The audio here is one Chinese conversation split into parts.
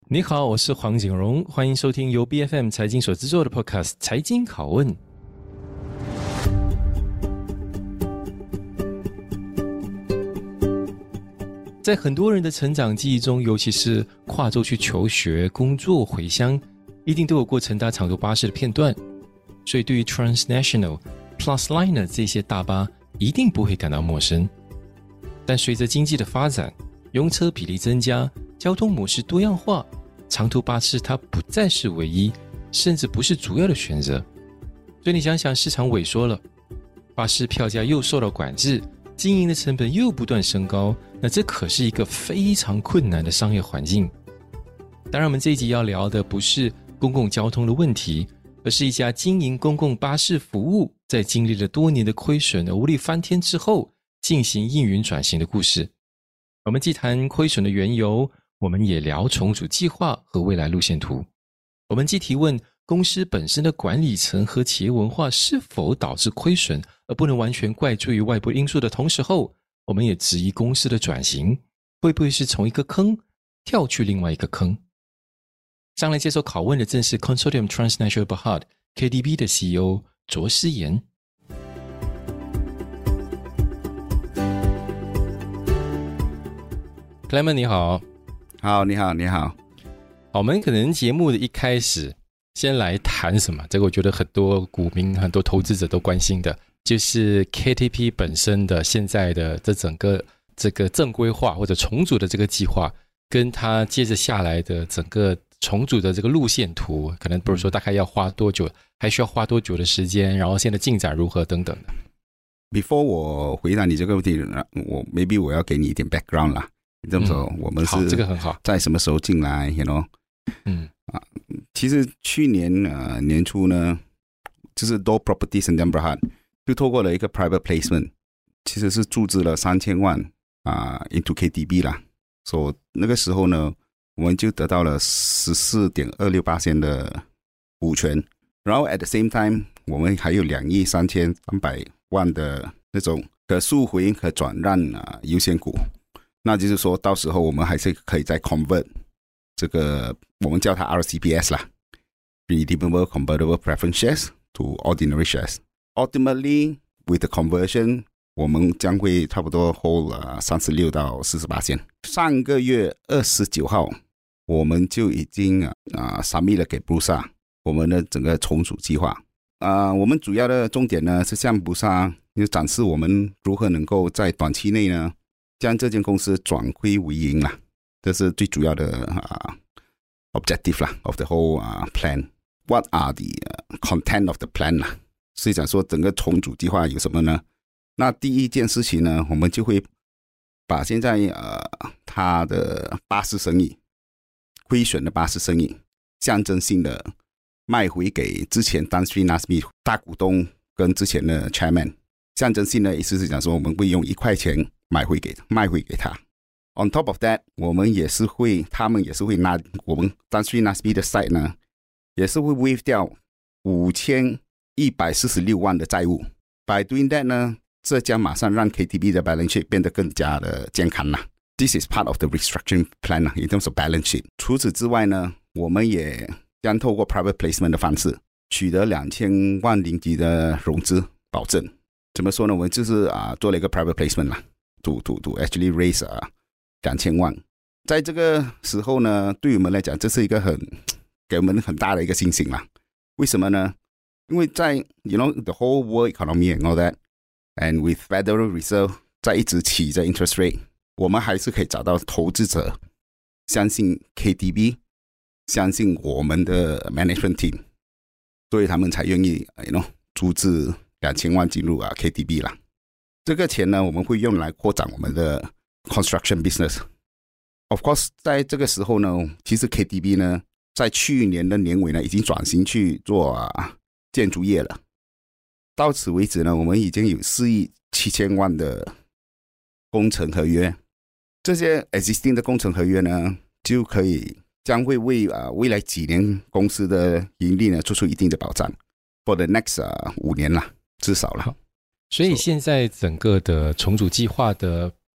你好，我是黃景榮，歡迎收聽由 BFM 財經所製作的 Podcast 財經拷問。在很多人的成長記憶中，尤其是跨州去求學、工作、回鄉，一定都有過乘搭長途巴士的片段。所以對於 Transnational、Plusliner 這些大巴，一定不會感到陌生。但隨着經濟的發展，用車比例增加，交通模式多樣化，長途巴士它不再是唯一，甚至不是主要的選擇。所以你想想，市場萎縮了，巴士票價又受到管制，經營的成本又不斷升高，那這可是一個非常困難的商業環境。當然，我們這一集要聊的不是公共交通的問題，而是一家經營公共巴士服務，在經歷了多年的虧損而無力翻天之後，進行營運轉型的故事。我們既談虧損的緣由，我們也聊重組計劃和未來路線圖。我們既提問公司本身的管理層和企業文化是否導致虧損，而不能完全怪罪於外部因素的同時候，我們也質疑公司的轉型會不會是從一個坑跳去另外一個坑。上來接受拷問的正是 Consortium Transnational Berhad KTB 的 CEO 卓思妍。Clement 你好。 好，你好，你好。 好，我們可能節目的一開始先來談什麼？這個我覺得很多股民、很多投資者都關心的，就是 KTB 本身的現在的這整個這個正規化或者重組的這個計劃，跟它接着下來的整個重組的這個路線圖，可能比如說大概要花多久，還需要花多久的時間，然後現在進展如何等等的。 Before 我回答你這個問題，maybe 我要給你一點 background 啦。這麼說，我們是這個很好， 在什麼時候進來 ，you know？ 其實去年年初呢，就是 Dole Properties and Berhad 就透過了一個 private placement， 其實是注資了3000萬into KTB 啦。所以那個時候呢，我們就得到了 14.26% 的股權，然後 at the same time， 我們還有2億3300萬的那種可贖回、可轉讓優先股。那就是說到時候我們還是可以再 convert 這個，我們叫它 RCPS 啦 Redeemable Convertible Preference Shares to Ordinary Shares. Ultimately, with the conversion, 我們將會差不多 hold 36到40%。上個月29號，我們就已經submit 了給 Bursa 我們的整個重組計劃。我們主要的重點呢是向 Bursa 展示我們如何能夠在短期內呢將這間公司轉虧為盈啦，這是最主要的objective 啦 of the whole plan. What are the content of the plan 啦？所以講說整個重組計劃有什麼呢？那第一件事情呢，我們就會把現在它的巴士生意虧損的巴士生意象徵性的賣回給之前 Tan Sri Nazmi 大股東跟之前的 chairman， 象徵性的意思是講說我們會用1塊錢賣回給他。On top of that， 他們也是會拿我們 Tan Sri Nazmi 的 side 呢，也是會 waive 掉5146萬的債務。By doing that 呢，這將馬上讓 KTB 的 balance sheet 變得更加的健康啦。This is part of the restructuring plan in terms of balance sheet。除此之外呢，我們也將透過 private placement 的方式，取得2000萬令吉的融資保證。怎麼說呢？我們就是做了一個 private placement 啦。To actually raise 2000萬，在這個時候呢，對我們來講，這是一個給我們很大的一個信心啦。為什麼呢？因為在 you know the whole world economy and all that, and with Federal Reserve 在一直起着 interest rate， 我們還是可以找到投資者相信 KTB， 相信我們的 management team， 所以他們才願意注資2000萬進入KTB 啦。這個錢呢，我們會用來擴展我們的 construction business。Of course， 在這個時候呢，其實 KTB 呢，在去年的年尾呢，已經轉型去做建築業了。到此為止呢，我們已經有4億7千萬的工程合約。這些 existing 的工程合約呢，將會為未來幾年公司的盈利呢，做出一定的保障。For the next 5年啦，至少了。 所以現在整個的重組計劃的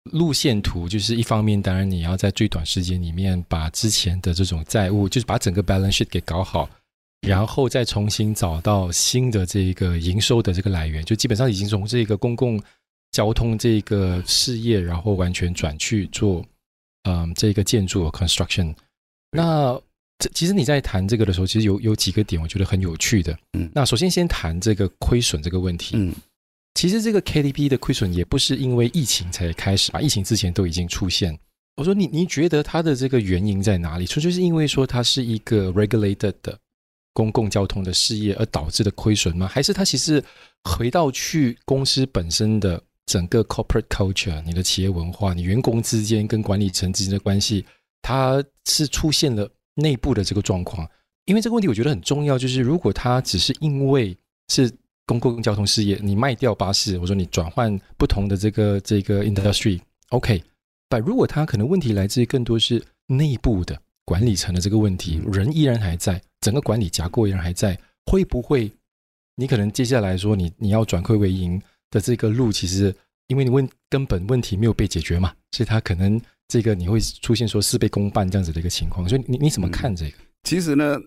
路線圖，就是一方面當然你要在最短時間裡面把之前的這種債務，就是把整個 balance sheet 給搞好，然後再重新找到新的這個營收的這個來源，就基本上已經從這個公共交通這個事業，然後完全轉去做這個建築 construction。那其實你在談這個的時候，其實有幾個點我覺得很有趣的。那首先先談這個虧損這個問題。其實這個 KTB 的虧損也不是因為疫情才開始吧，疫情之前都已經出現。我說你覺得它的這個原因在哪裡？純粹是因為說它是一個 regulated 的公共交通的事業而導致的虧損嗎？還是它其實回到去公司本身的整個 corporate culture， 你的企業文化，你員工之間跟管理層之間的關係，它是出現了內部的這個狀況？因為這個問題我覺得很重要，就是如果它只是因為是公共交通事業，你賣掉巴士，我說你轉換不同的這個 industry OK， 但如果它可能問題來自於更多是內部的管理層的這個問題，人依然還在，整個管理架構依然還在，會不會你可能接下來說你要轉虧為盈的這個路，其實因為你根本問題沒有被解決嘛，所以它可能這個你會出現說事倍功半這樣子的一個情況，所以你怎麼看這個？ 其實呢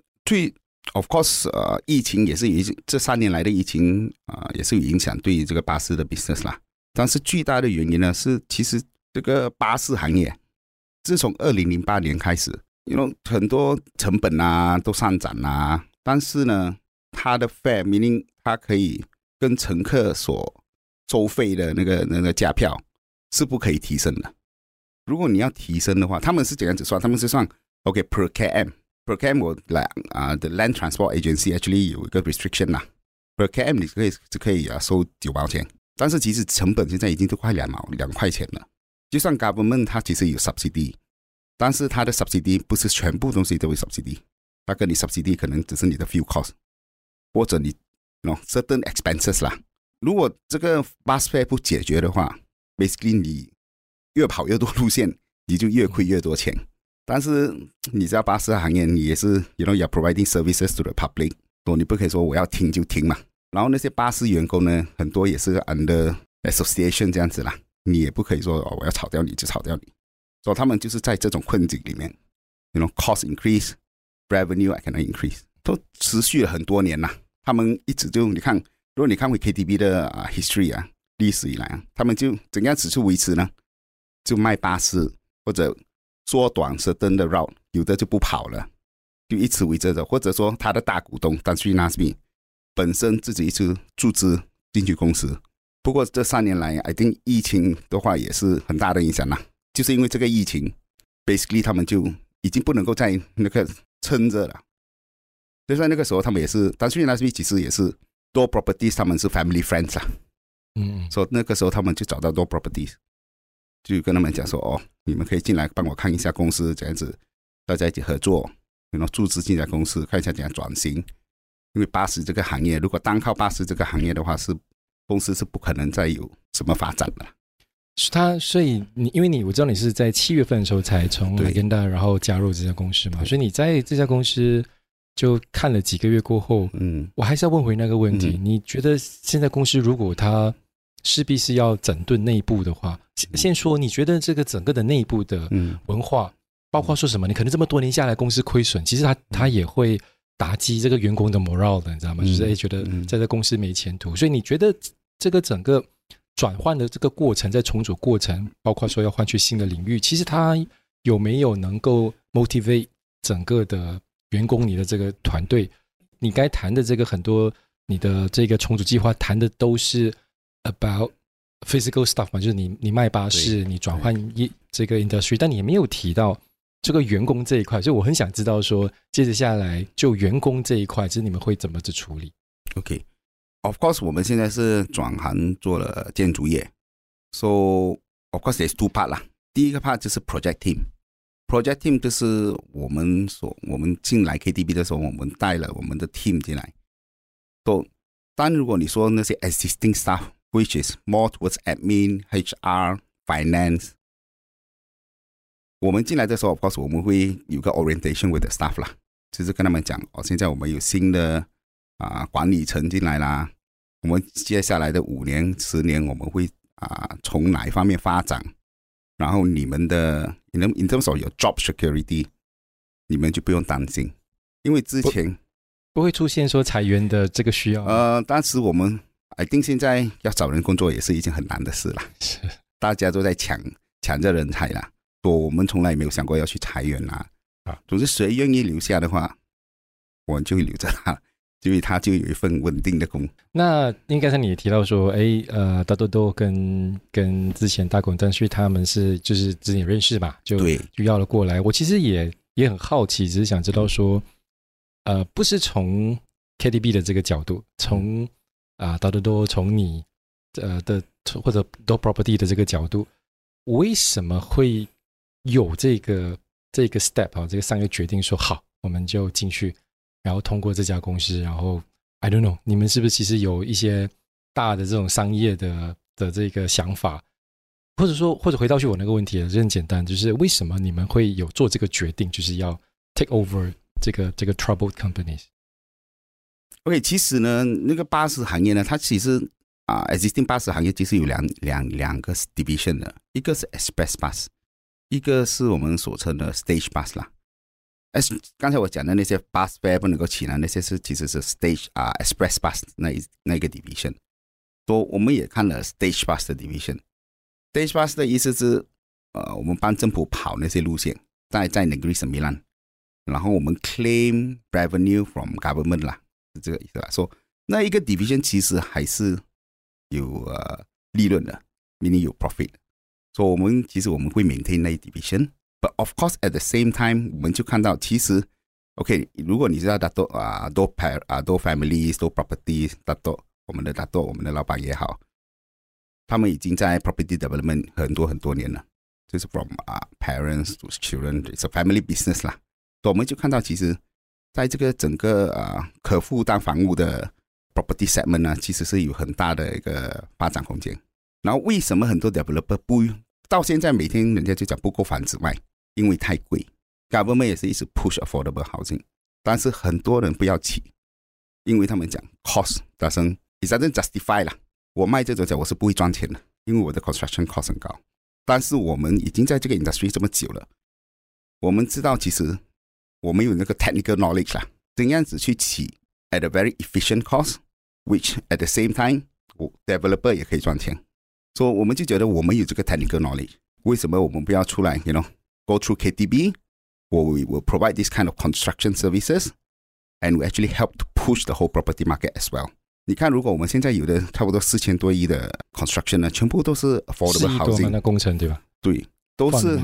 Of course， 疫情也是這3年來的疫情也是有影響對於這個巴士的 business 啦。但是最大的原因呢是，其實這個巴士行業自從2008年開始，很多成本都上漲啊，但是呢，它的 fare meaning 它可以跟乘客所收費的那個價票是不可以提升的。如果你要提升的話，他們是怎樣子算？他們是算 OK per km。Per km 我the Land Transport Agency actually 有一個 restriction 啦 ，per km 你可以收9毛錢，但是其實成本現在已經都快2塊錢了。就算 government 它其實有 subsidy， 但是它的 subsidy 不是全部東西都會 subsidy， 它跟你 subsidy 可能只是你的 fuel cost 或者你 certain expenses 啦。如果這個 bus fare 不解決的話 ，basically 你越跑越多路線，你就越虧越多錢。但是你知道巴士行業你也是 you're providing services to the public， 你不可以說我要停就停嘛。然後那些巴士員工呢，很多也是 under association 這樣子啦，你也不可以說我要炒掉你就炒掉你。所以他們就是在這種困境裡面 cost increase revenue I cannot increase 都持續了很多年啦。他們一直就你看，如果你看回 KTB 的history 歷史以來他們就怎樣子去維持呢？就賣巴士或者縮短certain的 route， 有的就不跑了，就一直圍着的，或者說他的大股東Tan Nasmi本身自己一直注資進去公司。不過這3年來 I think 疫情的話也是很大的影響啦，就是因為這個疫情 basically 他們就已經不能夠再那個撐着了。就在那個時候他們也是Tan Nasmi其實也是多 properties 他們是 family friends 啦，所以那個時候他們就找到多 properties， 就跟他們講說你們可以進來幫我看一下公司，這樣子大家一起合作，注資進來公司看一下怎樣轉型。因為巴士這個行業，如果單靠巴士這個行業的話，公司是不可能再有什麼發展的。 所以我知道你是在7月份的時候才從 Legenda 然後加入这家公司嘛，所以你在這家公司就看了幾個月過後，我還是要問回那個問題，你覺得現在公司如果它勢必是要整頓內部的話，先說你覺得這個整個的內部的文化，包括說什麼？你可能這麼多年下來公司虧損，其實它也會打擊這個員工的 morale 的，你知道嗎？就是覺得在這公司沒前途。所以你覺得這個整個轉換的這個過程，在重組過程，包括說要換去新的領域，其實它有沒有能夠 motivate 整個的員工，你的這個團隊？你該談的這個很多，你的這個重組計劃談的都是 about physical stuff 嘛，就是你賣巴士，你轉換這個 industry， 但你也沒有提到這個員工這一塊，所以我很想知道說，接着下來就員工這一塊，就是你們會怎麼去處理 ？OK，of course， 我們現在是轉行做了建築業 ，so of course there's 2 part 啦。第一個 part 就是 project team。project team 就是我們進來 KTB 的時候，我們帶了我們的 team 進來。但如果你說那些 existing staff，which is more towards admin、HR、finance， 我們進來的時候 of course 我們會有個 orientation with the staff 啦，就是跟他們講現在我們有新的管理層進來啦，我們接下來的5年、10年我們會從哪一方面發展， 然後你們的 in terms of your job security， 你們就不用擔心，因為之前不會出現說裁員的這個需要。 當時我們 I think 現在要找人工作也是一件很難的事了， 是大家都在搶着人才啦，我們從來沒有想過要去裁員啦。總之誰願意留下的話，我們就會留着他，因為他就有一份穩定的工。 那應該是你也提到說，大多多跟之前大公但是他們是就是之前認識嘛，就要了過來。我其實也很好奇，只是想知道說，不是從 KTB 的這個角度，從大多多從你的或者 Door Property 的這個角度，為什麼會有這個 step 啊，這個商業決定說好，我們就進去。然後通過這家公司，然後 I don't know， 你們是不是其實有一些大的這種商業的這個想法，或者回到去我那個問題就很簡單，就是為什麼你們會有做這個決定，就是要 take over 這個 troubled companies？OK， 其實呢，那個巴士行業呢，它其實existing 巴士行業其實有兩個 division 的，一個是 express bus， 一個是我們所稱的 stage bus 啦。剛才我講的那些 bus fare 不能夠起來，那些其實是 stage express bus 那個 division。所以我們也看了 stage bus 的 division。stage bus 的意思是我們幫政府跑那些路線，在 Negeri Sembilan， 然後我們 claim revenue from government 啦，是這個意思啦。所以那一個 division 其實還是有利潤的 ，meaning 有 profit。所以我們會 maintain 那一 division。But of course, at the same time， 我們就看到其實 ，OK， 如果你知道Dato' families、Dato' properties、Dato' 我們的老闆也好，他們已經在 property development 很多年了，就是 from parents to children，it's a family business 啦。所以我們就看到，其實在這個整個可負擔房屋的 property segment 呢，其實是有很大的一個發展空間。然後為什麼很多 developer 到現在每天人家就講不夠房子賣？因為太貴 ，government 也是一直 push affordable housing， 但是很多人不要起，因為他們講 cost doesn't justify 啦。我賣這種價我是不會賺錢的，因為我的 construction cost 很高。但是我們已經在這個 industry 這麼久了，我們知道其實我們有那個 technical knowledge 啦，怎樣子去起 at a very efficient cost，which at the same time developer 也可以賺錢。所以我們就覺得我們有這個 technical knowledge， 為什麼我們不要出來 ，you know？Go through KTB, or we will provide this kind of construction services, and we actually help to push the whole property market as well. 你看，如果我們現在有的差不多4000多億的 construction 呢，全部都是 affordable housing 4億多的工程，对吧？对，都是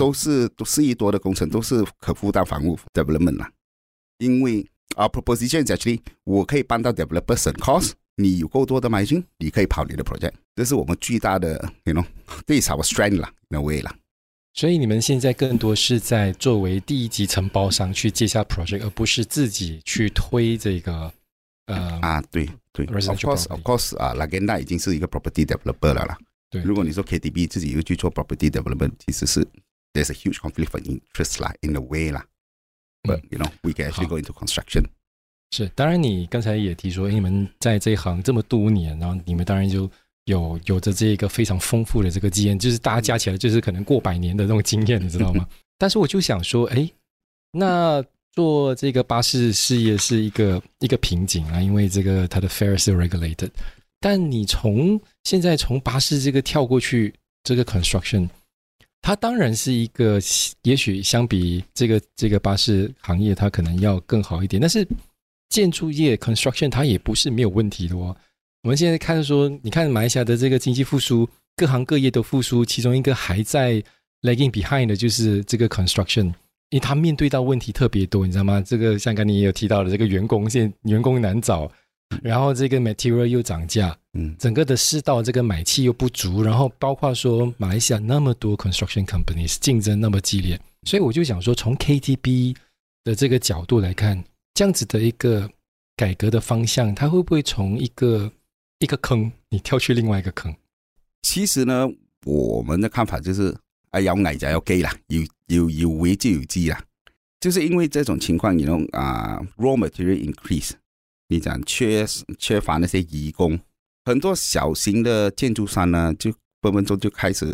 4億多的工程，都是可負擔房屋 development 啦。因為 our proposition is actually 我可以幫到 developer 省 cost， 你有夠多的 margin， 你可以跑你的 project， 這是我們最大的 ，you know， this is our strength 啦 ，in a way 啦。 所以你們現在更多是在作為第一級承包商去接下 project， 而不是自己去推這個對 ，of course Lagenda 已經是一個 property developer 了啦。對，如果你說 KTB 自己又去做 property development， 其實是 there's a huge conflict of interest 啦 ，in a way 啦。But you know we can actually go into construction。 是，當然你剛才也提說，你們在這一行這麼多年，然後你們當然就有着這個非常豐富的這個經驗，就是大家加起來就是可能過100年的那種經驗，你知道嗎？但是我就想說，那做這個巴士事業是一個瓶頸啊，因為這個它的 fare 是 regulated。但你現在從巴士這個跳過去這個 construction， 它當然是一個也許相比這個巴士行業它可能要更好一點，但是建築業 construction 它也不是沒有問題的哦。我們現在看說，你看馬來西亞的這個經濟復甦，各行各業都復甦，其中一個還在 lagging behind 的就是這個 construction， 因為它面對到問題特別多，你知道嗎？這個像剛才你也有提到的，這個員工難找，然後這個 material 又漲價，整個的世道這個買氣又不足，然後包括說馬來西亞那麼多 construction companies 競爭那麼激烈，所以我就想說，從 KTB 的這個角度來看，這樣子的一個改革的方向，它會不會從一個坑，你跳去另外一個坑？ 其實呢，我們的看法就是有危就有機啦，有危就有機啦。就是因為這種情況，你know raw material increase， 你講缺乏那些移工，很多小型的建築商呢，就分分鐘就開始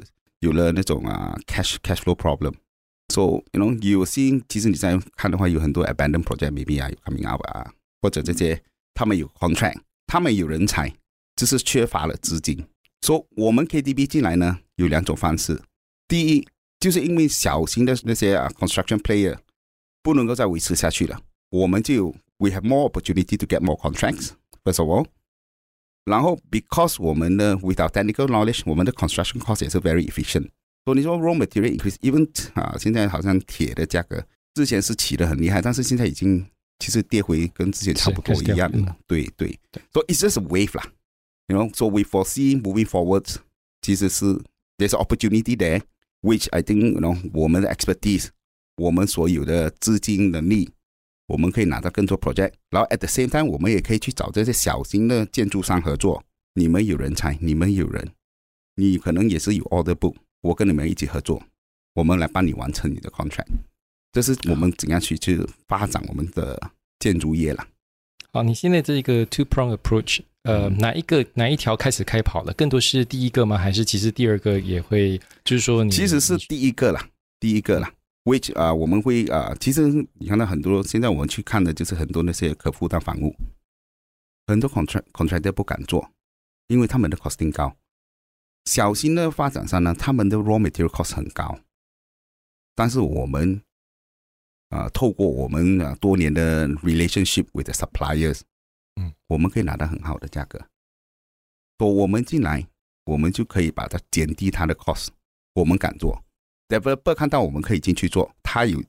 有了那種cash flow problem。So you know you see， 其實你在看的話，有很多 abandoned project maybe 有 coming out 或者這些他們有 contract， 他們有人才，只是缺乏了資金。So 我們 KTB 進來呢，有兩種方式。第一，就是因為小型的那些construction player 不能夠再維持下去了，我們就 we have more opportunity to get more contracts first of all。然後 because 我們的 without technical knowledge， 我們的 construction cost 也是 very efficient。所以你說 raw material increase，even 現在好像鐵的價格之前是起得很厲害，但是現在已經其實跌回跟之前差不多一樣了。對。So it's just a wave 啦。You know, so we foresee moving forward， 其實是 there's an opportunity there。Which I think, you know, 我們的 expertise， 我們所有的資金能力，我們可以拿到更多 project。然後 at the same time， 我們也可以去找這些小型的建築商合作。你們有人才，你們有人，你可能也是有 order book， 我跟你們一起合作，我們來幫你完成你的 contract。這是我們怎樣去發展我們的建築業啦。 好，你現在這個 two-prong approach，哪一條開始開跑了？更多是第一個嗎？還是其實第二個也會？就是說其實是第一個啦。Which 我們會其實你看到很多，現在我們去看的就是很多那些可負擔房屋，很多 contractor 不敢做，因為他們的 costing 高。小型的發展商呢，他們的 raw material cost 很高，但是我們透過我們多年的 relationship with the suppliers，我們可以拿到很好的價格。所以我們進來，我們就可以把它減低它的 cost。我們敢做 ，developer 看到我們可以進去做，他有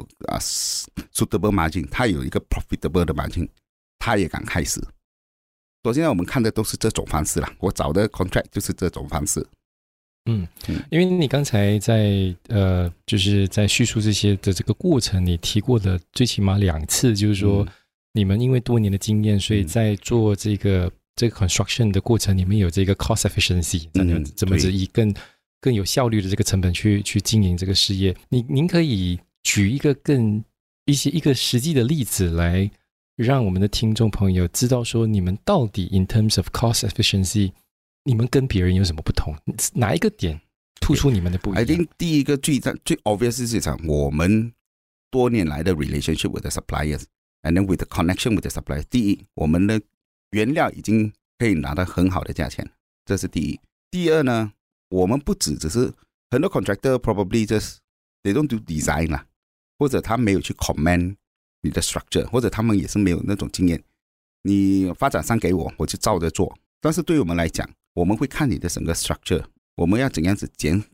suitable margin， 他有一個 profitable 的 margin， 他也敢開始。所以現在我們看的都是這種方式啦，我找的 contract 就是這種方式。 因為你剛才在就是在敘述這些的這個過程，你提過的最起碼2次，就是說你們因為多年的經驗，所以在做這個 construction 的過程，你們有這個 cost efficiency， 怎麼以更有效率的這個成本去經營這個事業。您可以舉一個一個實際的例子來讓我們的聽眾朋友知道說，你們到底 in terms of cost efficiency， 你們跟別人有什麼不同？哪一個點突出你們的不一樣？ I think 第一個最 obvious 是講我們多年來的 relationship with the suppliers and then with the connection with the suppliers。第一，我們的原料已經可以拿到很好的價錢，這是第一。第二呢，我們不只是很多 contractor probably just they don't do design 啦，或者他沒有去 comment 你的 structure， 或者他們也是沒有那種經驗。你發展商給我，我就照着做。但是對我們來講，我們會看你的整個 structure， 我們要怎樣子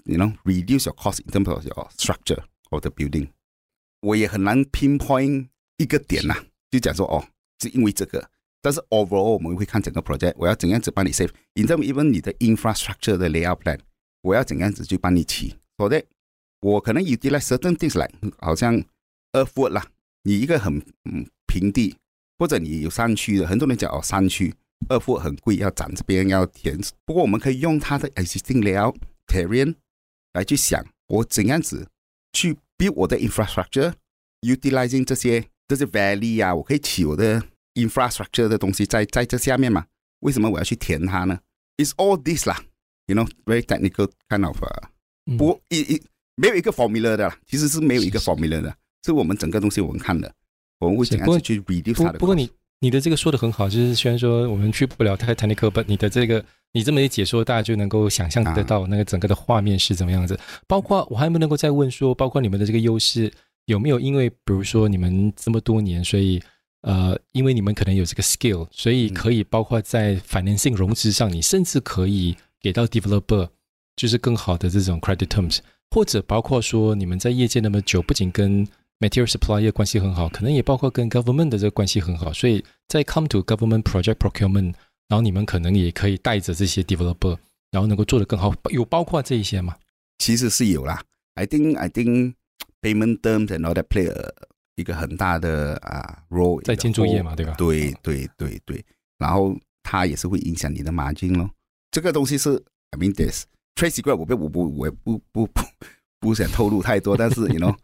reduce your cost in terms of your structure of the building。我也很難 pinpoint 一個點啦，就講說是因為這個。但是 overall 我們會看整個 project， 我要怎樣子幫你 save。in terms even 你的 infrastructure 的 layout plan， 我要怎樣子去幫你起。所以我可能 utilize certain things like 好像 earthwork 啦，你一個很平地，或者你有山區的，很多人講山區earthwork 很貴，要斬這邊要填。不過我們可以用它的 existing layout terrain 來去想，我怎樣子去 build 我的 infrastructure utilizing 這些 valley 啊，我可以起我的 infrastructure 的東西在這下面嘛？為什麼我要去填它呢？ It's all this 啦 ，you know very technical kind of 不過沒有一個 formula 的啦，其實是沒有一個 formula 的，是我們整個東西我們看的，我們會怎樣子去 reduce 它的。 不過你的這個說的很好，就是雖然說我們去不了太 technical， but 你的這個你這麼一解說，大家就能夠想象得到那個整個的畫面是怎麼樣子。包括我還能夠再問說，包括你們的這個優勢有沒有因為比如說你們這麼多年，所以因為你們可能有這個 skill， 所以可以包括在 financing 融資上，你甚至可以給到 developer 就是更好的這種 credit terms， 或者包括說你們在業界那麼久，不僅跟 material supplier 關係很好，可能也包括跟 government 的這個關係很好，所以在 come to government project procurement， 然後你們可能也可以帶着這些 developer， 然後能夠做得更好，有包括這一些嗎？ 其實是有啦。I think payment terms and all that play 一個很大的role 在建築業嘛，對吧？ 對，然後它也是會影響你的 margin 咯。這個東西是 I mean this trade secret， 我也不想透露太多，但是you know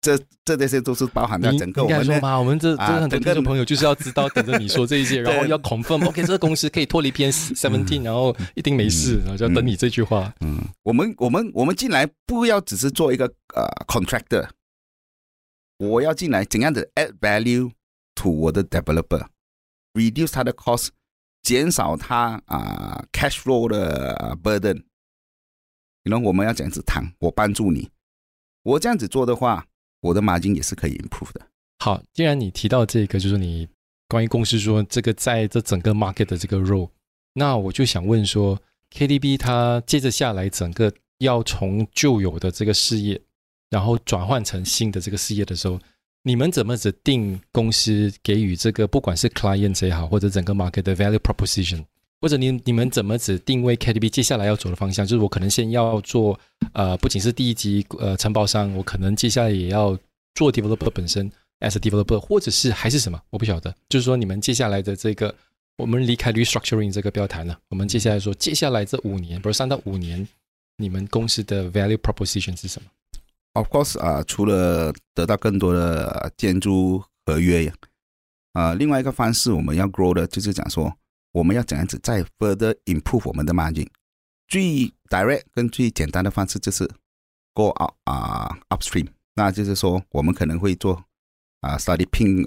這些都是包含在整個我們的。 應該說嘛，我們這很多聽眾朋友就是要知道，等着你說這一些，然後要 confirm，OK， 這個公司可以脫離 PM17，然後一定沒事，然後就要等你這句話。 我們進來不要只是做一個contractor， 我要進來怎樣的 add value to 我的 developer，reduce 他的 cost， 減少他cash flow 的burden。我們要這樣子談，我幫助你。我這樣子做的話，我的 margin 也是可以 improve 的。 好，既然你提到這個，就是你關於公司說這個在這整個 market 的這個 role， 那我就想問說 ，KTB 它接着下來整個要從舊有的這個事業，然後轉換成新的這個事業的時候，你們怎麼指定公司給予這個不管是 client 也好，或者整個 market 的 value proposition？或者你們怎麼只定位 KTB 接下來要走的方向？就是我可能先要做不僅是第一級承包商，我可能接下來也要做 developer 本身 as a developer， 或者是還是什麼？我不曉得。就是說你們接下來的這個，我們離開 restructuring 這個不要談了，我們接下來說接下來這5年，比如3到5年，你們公司的 value proposition 是什麼 ？Of course 除了得到更多的建築合約另外一個方式我們要 grow 的就是講說。我們要怎樣子再 further improve 我們的 margin？ 最 direct 跟最簡單的方式就是 go out upstream， 那就是說我們可能會做study 拼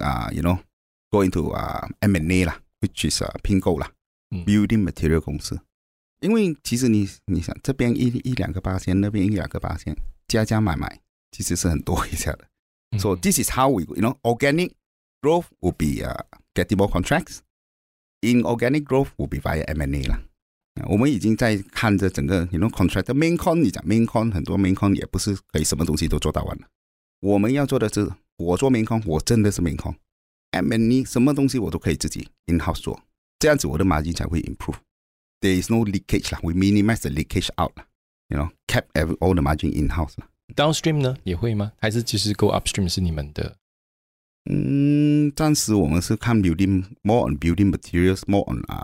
go into M&A 啦 ，which is 拼購啦，building material 公司。因為其實你想這邊1-2個%，那邊1-2個%，加買，其實是很多一下的。So this is how we organic growth will be getting more contracts。Inorganic growth will be via M&A 啦。我們已經在看着整個contract main con， 你講 main con， 很多 main con 也不是可以什麼東西都做到完了。我們要做的是，我做 main con， 我真的是 main con。M&A 什麼東西我都可以自己 in house 做，這樣子我的 margin 才會 improve。There is no leakage 啦 ，we minimize the leakage out 啦，kept all the margin in house 啦。 Downstream 呢也會嗎？還是其實 go upstream 是你們的？ 暫時我們是看 building more on building materials, more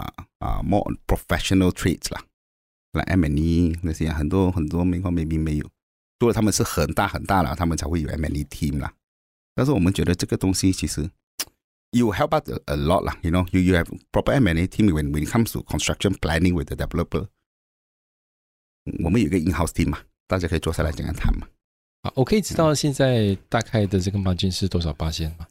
on professional trades 啦，like M&E 那些很多 main con maybe 沒有，除了他們是很大了，他們才會有 M&E team 啦。但是我們覺得這個東西其實 you help us a lot 啦，you have proper M&E team when it comes to construction planning with the developer。我們有一個 in-house team 嘛，大家可以坐下來這樣談嘛。 我可以知道現在大概的這個 margin 是多少%嗎？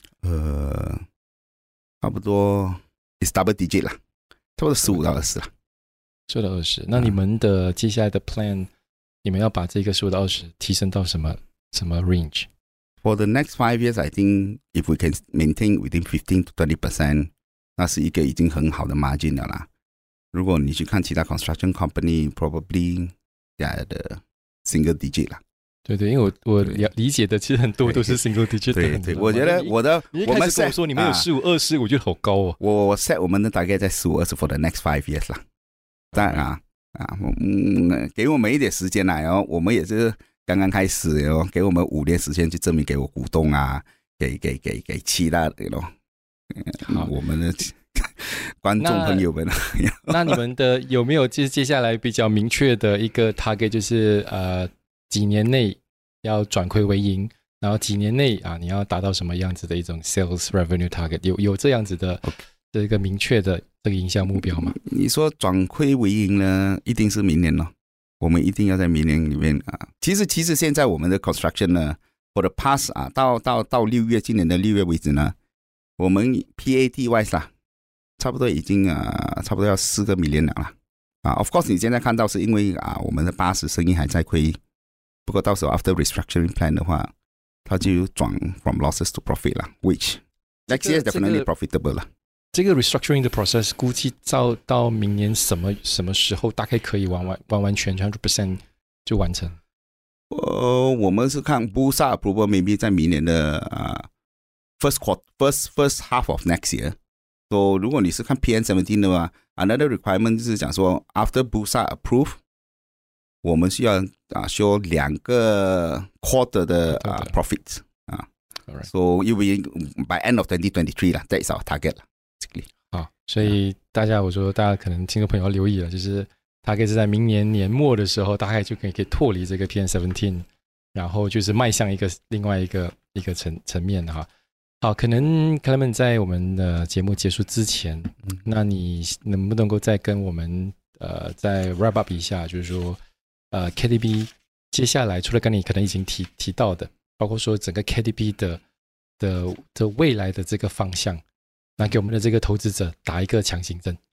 差不多 is double digit 啦，差不多15到20啦。 15到20，那你們的接下來的 plan， 你們要把這個15到20提升到什麼 range？ For the next 5 years, I think if we can maintain within 15 to 20%， 那是一個已經很好的 margin 了啦。如果你去看其他 construction company, probably the single digit 啦。對， 因為我理解的其實很多都是 single digit 的。 對，我覺得我們 set 說你們有15、20，我覺得好高哦。 我 set 我們的大概在15、20 for the next 5 years 啦。當然給我們一點時間啦，然後我們也是剛剛開始，然後給我們5年時間去證明給我股東給其他我們的觀眾朋友們。 那你們的有沒有接下來比較明確的一個 target， 就是幾年內要轉虧為盈，然後幾年內你要達到什麼樣子的一種 sales revenue target， 有這樣子的這個明確的這個營銷目標嗎？ 你說轉虧為盈呢，一定是明年了。我們一定要在明年裡面其實現在我們的 construction 呢 for the past 到6月，今年的6月為止呢，我們 PAT wise 啦，差不多已經差不多要4個 million 了啦。Of course 你現在看到是因為我們的80生意還在虧。不過到時候 after restructuring plan 的話，它就轉 from losses to profit 啦 ，which next year is definitely profitable 啦。 這個 restructuring 的 process 估計到明年什麼時候大概可以完全 100% 就完成？ 我們是看 Bursa approval maybe 在明年的first half of next year。So 如果你是看 PM17 的話 ，another requirement 就是講說 after Bursa approve， 我們需要show 2個 quarter 的profits So you will by end of 2023啦 ，that is our target 啦。 好，所以大家可能聽眾朋友要留意了，就是大概是在明年年末的時候，大概就可以脫離這個 PM17， 然後就是邁向另外一個層面哈。好，可能Clement在我們的節目結束之前，那你能不能夠再跟我們再 wrap up 一下，就是說KTB 接下來除了剛才你可能已經提到的，包括說整個 KTB 的未來的這個方向，那給我們的這個投資者打一個強心針。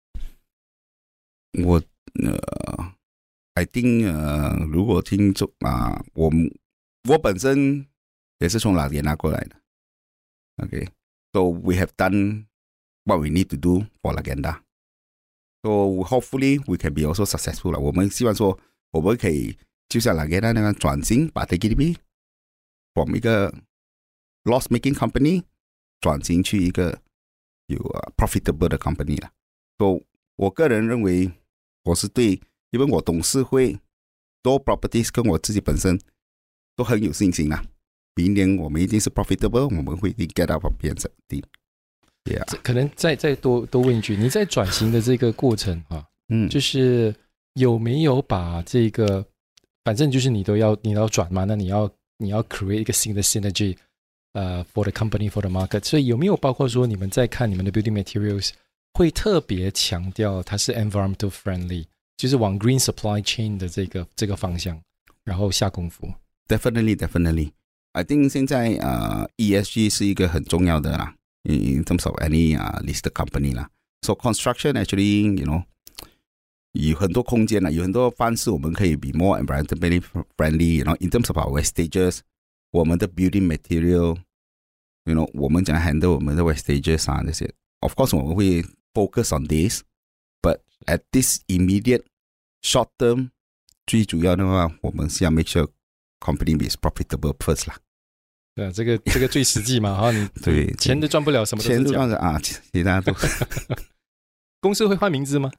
I think 如果聽眾我本身也是從Laguna過來的。Okay, so we have done what we need to do for Laguna. So hopefully we can be also successful. 我們希望說我們可以就像Laguna那樣轉型，把 KTB from 一個 loss-making company 轉型去一個有profitable 的 company 了。So 我個人認為我是對，因為我董事會多 properties 跟我自己本身都很有信心啦。明年我們一定是 profitable， 我們會一定 get up 變成定。 可能再多問一句，你在轉型的這個過程就是有沒有把這個，反正就是你要轉嘛，那你要 create 一個新的 synergy， for the company for the market， 所以有沒有包括說你們在看你們的 building materials 會特別強調它是 environmental friendly， 就是往 green supply chain 的這個方向，然後下功夫。 Definitely. I think 現在ESG 是一個很重要的啦 in terms of any listed company 啦。So construction actually, you know, 有很多空間啦，有很多方式我們可以 be more environmentally friendly. You know, in terms of our wastages, 我們的 building material, you know, 我們怎樣 handle 我們的 wastages 啊這些。Of course, 我們會 focus on this, but at this immediate short term, 最主要的話，我們是要 make sure company is profitable first 啦。 对，这个最實際嘛，哈，你對錢都賺不了，什麼都是講。錢都賺啊，其他都。公司會換名字嗎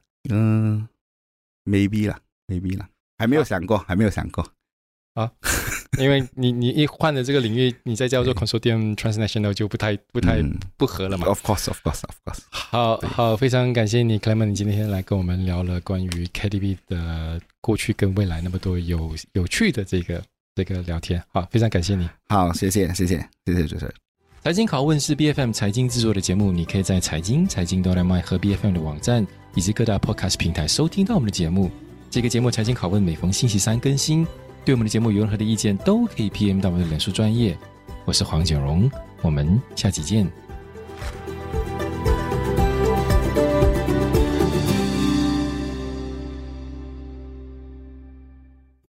？Maybe 啦，還沒有想過啊， 因為你一換了這個領域，你再叫做 Consortium Transnational 就不太不合了嘛。 Of course. 好，非常感謝你 Clement， 你今天來跟我們聊了關於 KTB 的過去跟未來那麼多有趣的這個聊天。好，非常感謝你。 好，謝謝主持人。 財經拷問是 BFM 財經製作的節目，你可以在財經.my 和 BFM 的網站以及各大 podcast 平台收聽到我們的節目。這個節目財經拷問每逢星期三更新。對我們的節目有任何的意見，都可以 PM 到我們的臉書專頁。我是黃錦榮，我們下期見。